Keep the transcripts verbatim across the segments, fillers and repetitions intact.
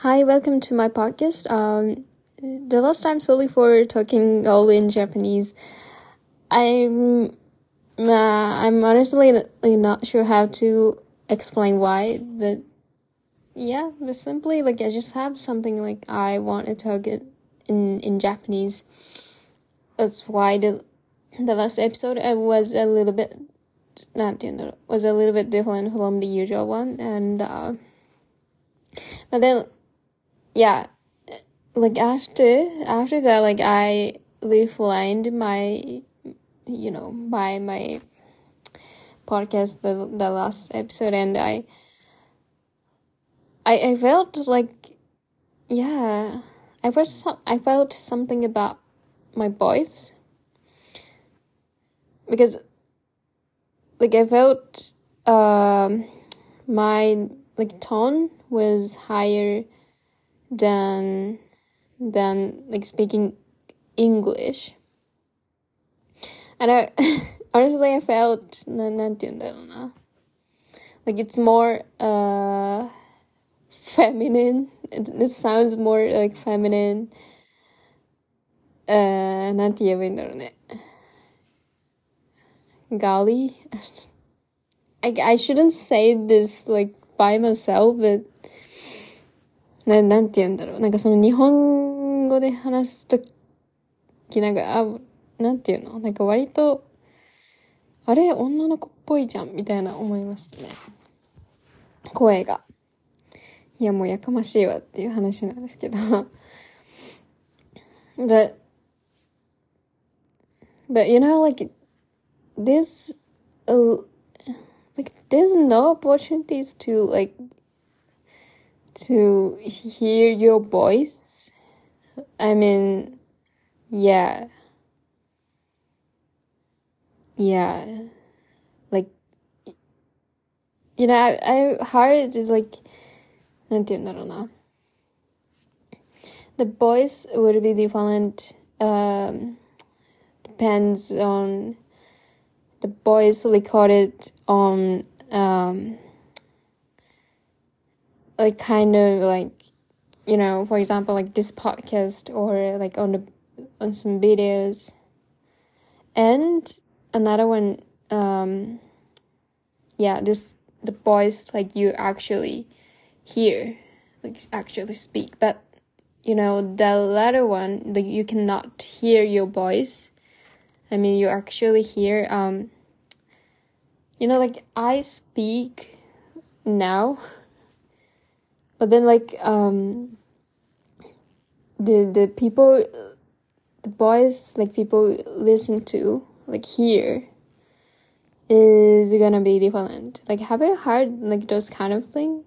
Hi, welcome to my podcast. Um, the last time, sorry for talking all in Japanese. I'm, uh, I'm honestly like, not sure how to explain why, but yeah, but simply like I just have something like I want to talk it in in Japanese. That's why the the last episode uh, was a little bit, not you know, was a little bit different from the usual one, and uh, but then. Yeah, like after after that, like I refined my, you know, by my podcast the the last episode, and I I I felt like, yeah, I felt some, I felt something about my voice because like I felt um my like tone was higher than than like speaking English, and I honestly I felt な、なんて言うんだろうな like it's more uh feminine. It, it sounds more like feminine. uh なんて言えばいいんだろうね Golly. I, I shouldn't say this like by myself, but な、なんて言うんだろう。なんかその日本語で話すとき、なんか、あ、なんて言うのなんか割と、あれ女の子っぽいじゃんみたいな思いましたね。声が。いや、もうやかましいわっていう話なんですけど。but, but you know, like, this, uh, like, there's no opportunities to, like, to hear your voice. I mean, yeah. Yeah. Like, you know, I, I heard it like, なんて言うんだろうな. The voice would be different, um, depends on the voice recorded on, um, like kind of like, you know, for example, like this podcast or like on the, on some videos. And another one, um, yeah, this, the voice like you actually hear, like actually speak. But, you know, the latter one, like you cannot hear your voice. I mean, you actually hear, um, you know, like I speak now. But then, like, um, the the people, the voice, like, people listen to, like, hear, is gonna be different. Like, have you heard, like, those kind of thing?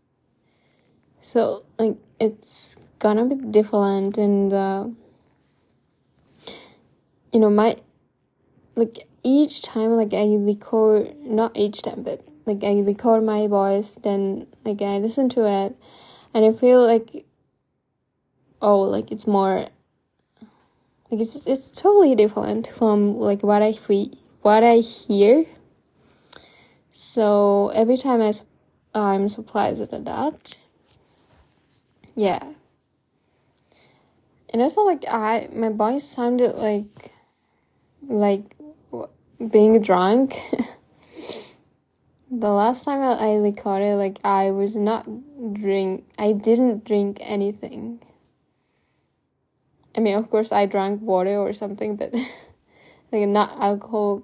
So, like, it's gonna be different, and, uh, you know, my, like, each time, like, I record, not each time, but, like, I record my voice, then, like, I listen to it, and I feel like, oh, like, it's more, like, it's, it's totally different from, like, what I feel, what I hear. So, every time I, I'm surprised at that. Yeah. And also, like, I, my voice sounded like, like, being drunk. The last time I recorded, like, I was not drink, I didn't drink anything. I mean, of course, I drank water or something, but, like, not alcohol.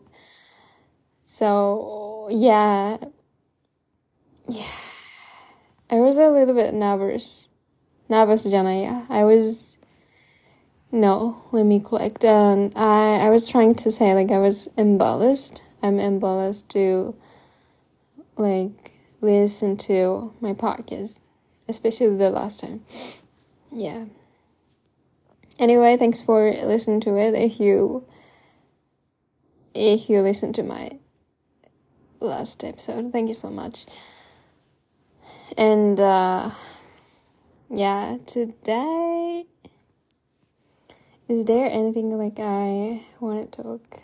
So, yeah. Yeah. I was a little bit nervous. Nervous じゃないや. I was, no, let me correct. Um, I, I was trying to say, like, I was embarrassed. I'm embarrassed to, like, listen to my podcast, especially the last time. Yeah. Anyway, thanks for listening to it. If you, if you listen to my last episode, thank you so much. And, uh, yeah, today, is there anything, like, I want to talk?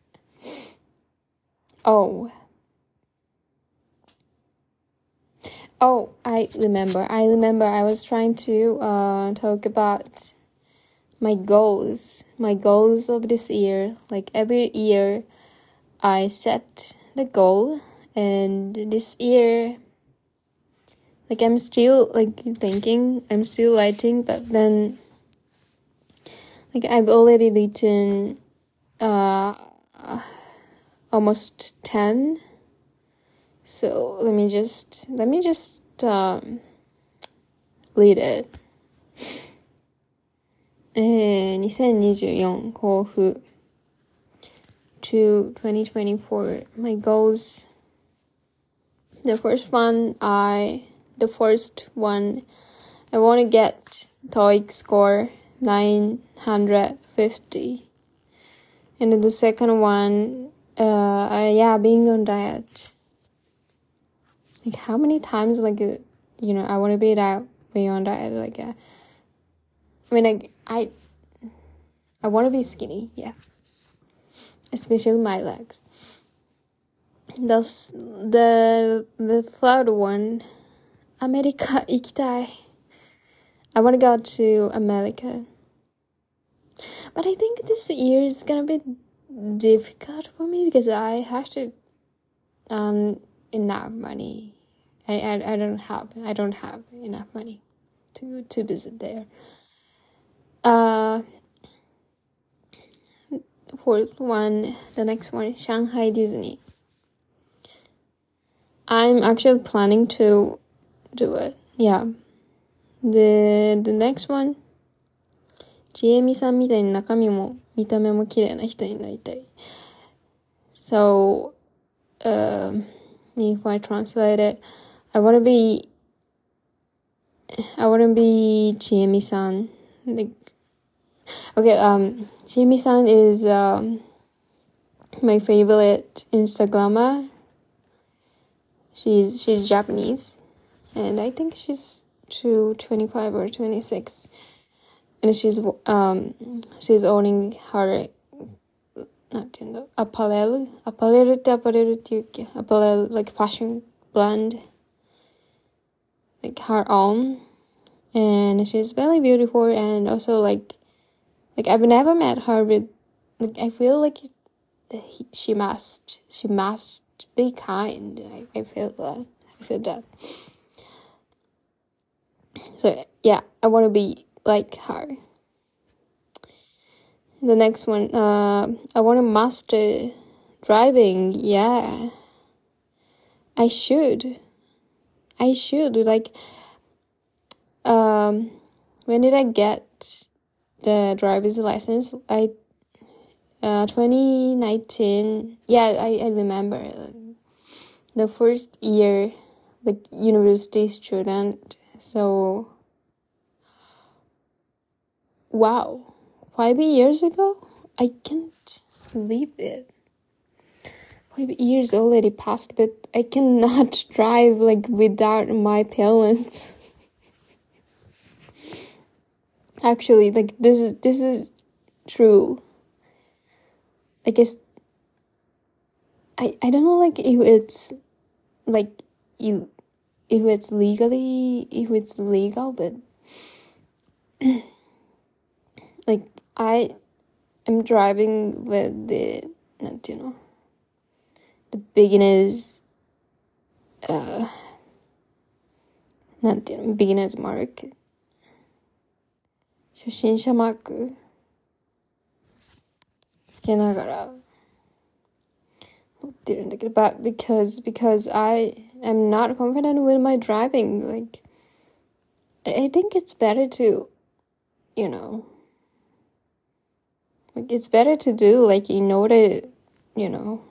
Oh. Oh, I remember. I remember I was trying to uh, talk about my goals. My goals of this year. Like every year, I set the goal. And this year, like I'm still like thinking, I'm still writing, but then like I've already written uh, almost ten. So let me just, let me just um, read it. えー、にせんにじゅうよん抱負 to twenty twenty-four. My goals. The first one, I, the first one, I want to get TOEIC score nine hundred fifty. And then the second one, uh, uh, yeah, being on diet. Like how many times, like, uh, you know, I want to be that way on diet. Like, uh, I mean, like, I, I want to be skinny, yeah. Especially my legs. Thus, the, the third one, America 行きたい. I want to go to America. But I think this year is gonna be difficult for me because I have to um enough money. I, I I don't have I don't have enough money to to visit there. Uh, fourth one, the next one, Shanghai Disney. I'm actually planning to do it. Yeah. The the next one, ちえみさんみたいに中身も見た目も綺麗な人になりたい. So, um, if I translate it, I want to be, I want to be ちえみさん. Like, okay, um, ちえみさん is um my favorite Instagrammer. She's she's Japanese, and I think she's to twenty-five or twenty-six, and she's um she's owning her なんていうんだ apparel apparel って apparel っていうっけ apparel like fashion brand, like her own, and she's very beautiful, and also like like I've never met her, but like I feel like he, she must she must be kind. I, I feel that I feel that. So yeah, I want to be like her. The next one, uh, I want to master driving. Yeah, I should. I should. Like, um, when did I get the driver's license? I, uh, twenty nineteen. Yeah, I, I remember. The first year, like, university student. So, wow. Five years ago? I can't believe it. Five years already passed, but I cannot drive like without my parents. Actually, like this is this is true. I guess I I don't know like if it's like you if it's legally if it's legal, but like I am driving with the, not, you know, the beginners, uh, not, you know, beginners mark, 初心者マークつけながら乗ってるんだけど、but because, because I am not confident with my driving, like, I think it's better to, you know, like, it's better to do, like, in order, you know,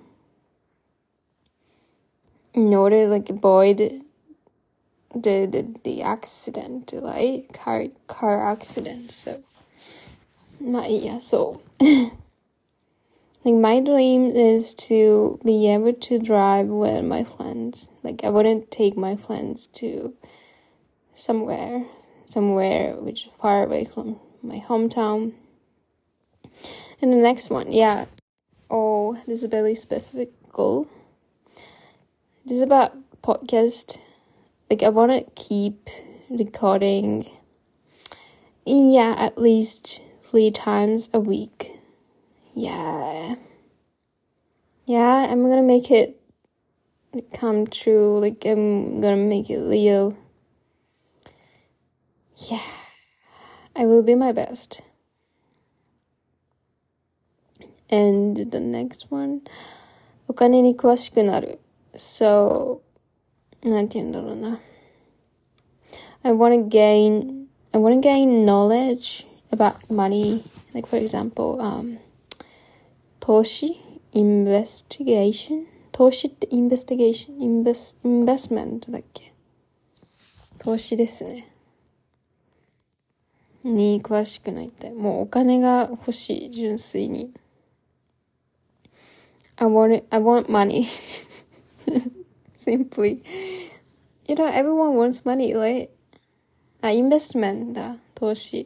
in order, like, avoid the, the, the accident, like, car, car accident, so, まあいいや, so, like, my dream is to be able to drive with my friends, like, I wouldn't take my friends to somewhere, somewhere which is far away from my hometown. And the next one, yeah. Oh, this is a very specific goal. This is about podcast. like I want to keep recording, yeah, at least three times a week. Yeah. Yeah, I'm gonna make it come true. Like, I'm gonna make it real. Yeah. I will be my best. And the next one. お金に詳しくなる. So, なんて言うんだろうな. I want to gain, I want to gain knowledge about money. Like, for example, um, 投資 investigation 投資って investigation invest investment だっけ投資ですねに詳しくなりたいもうお金が欲しい純粋に I want it, I want money simply you know everyone wants money right あ investment だ投資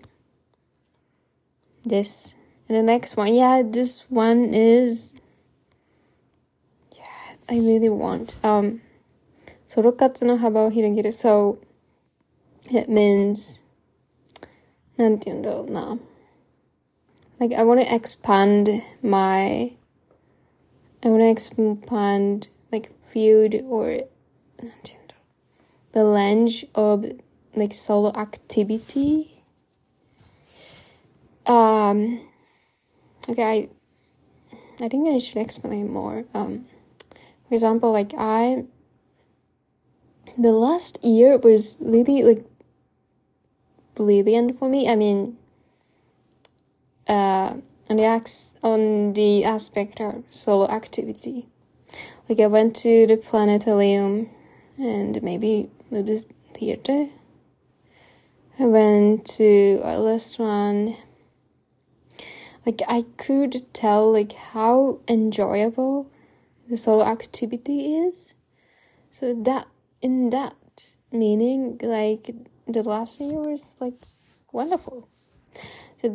です and the next one yeah this one is I really want. Um, ソロ活の幅を広げる. So, it means, なんて言うんだろうな. Like, I want to expand my, I want to expand, like, field or, なんて言うんだろう. The range of, like, solo activity. Um, okay, I, I think I should explain more. Um, For example, like I, the last year was really like brilliant for me. I mean, uh, on the ex- on the aspect of solo activity, like I went to the planetarium and maybe maybe theater. I went to a restaurant. Like I could tell like how enjoyable the solo activity is. So that, in that meaning, like, the last year was, like, wonderful. So,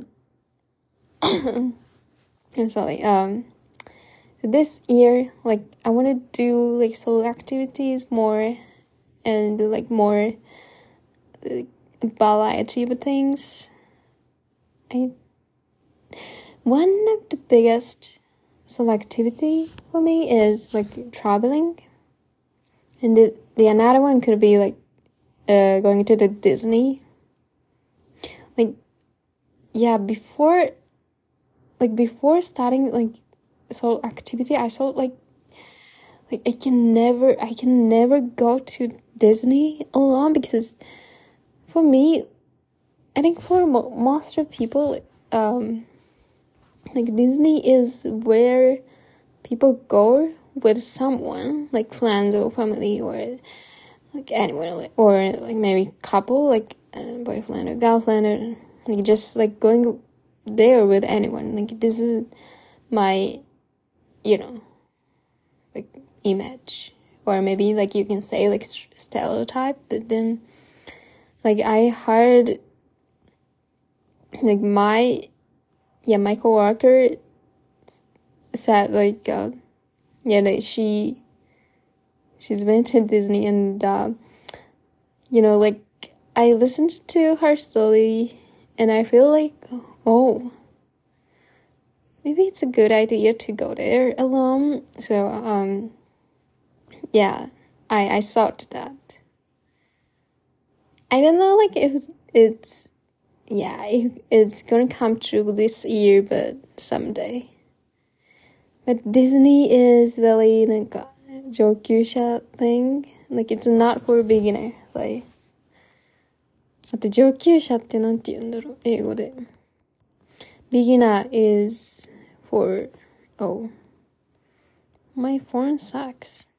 I'm sorry, um, so this year, like, I want to do, like, solo activities more, and, like, more, like, variety of things. I, one of the biggest selectivity for me is like traveling, and the, the another one could be like uh going to the Disney. Like yeah, before like before starting like solo activity, I thought like like I can never I can never go to Disney alone because for me, I think for mo- most of people, um. Like, Disney is where people go with someone, like friends or family or, like, anyone, or, like, maybe couple, like, uh, boyfriend or girlfriend, or, like, just, like, going there with anyone. Like, this is my, you know, like, image. Or maybe, like, you can say, like, stereotype, but then, like, I heard, like, my... Yeah, my coworker said like, uh, yeah, that she, she's been to Disney and, uh, you know, like, I listened to her story and I feel like, oh, maybe it's a good idea to go there alone. So, um, yeah, I, I thought that. I don't know, like, if it's, yeah, it, it's gonna come true this year, but someday. But Disney is very, like, 上級者 thing. Like, it's not for beginner. Like, あと上級者ってなんて言うんだろう英語で。Beginner is for, oh, my phone sucks.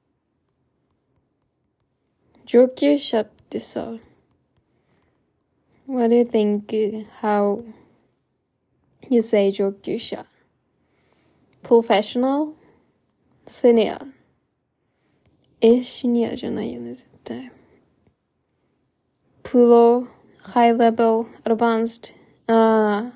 上級者ってさ、What do you think how you say 上級者? Professional? Senior? え、シニアじゃないよね、絶対。Pro? High level? Advanced? あ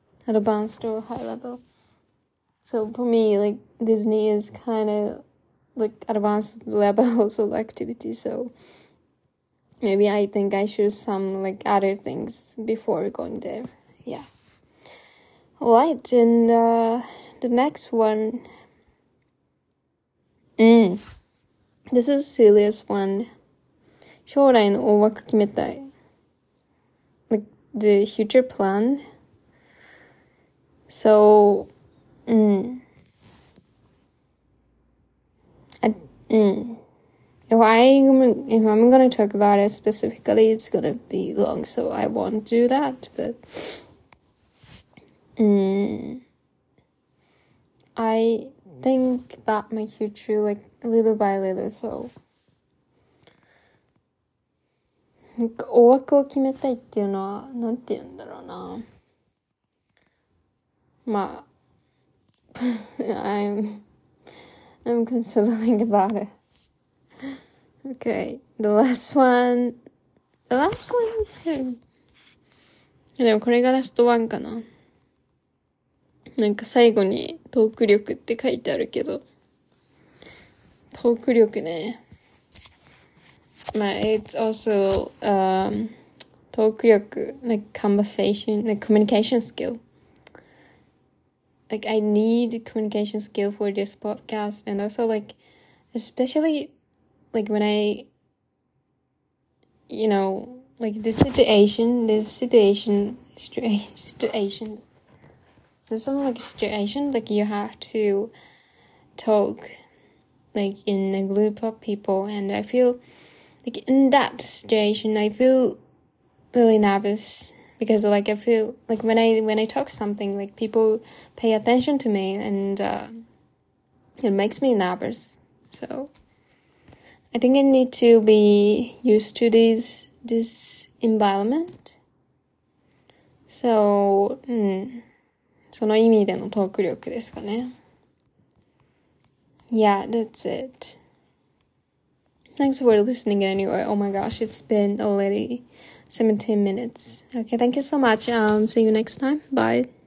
あ。Advanced or high level. So for me, like, Disney is kind of like advanced levels of activity, so maybe I think I choose some like other things before going there. Yeah. Alright, and uh, the next one. Mm. This is serious one. 将来の大枠決めたい。Like the future plan. So, mm, I, mm, if I if I'm gonna talk about it specifically, it's gonna be long, so I won't do that. But, mm, I think about my future like little by little. So, なんか大枠を決めたいっていうのはなんて言うんだろうな。まあI'm I'm considering about it. Okay, the last one. The last one is good. でもこれがラストワンかな。なんか最後にトーク力って書いてあるけど、トーク力ね。まあ、it's also um トーク力 like conversation like communication skill. Like I need communication skill for this podcast, and also like especially like when I you know like this situation this situation situation there's some like situation like you have to talk like in a group of people, and I feel like in that situation I feel really nervous. Because like I feel like when I when I talk something, like people pay attention to me, and uh, it makes me nervous. So I think I need to be used to this this environment. So, うん、その意味でのトーク力ですかね。Yeah, that's it. Thanks for listening anyway. Oh my gosh, it's been already seventeen minutes. Okay, thank you so much. Um, see you next time. Bye.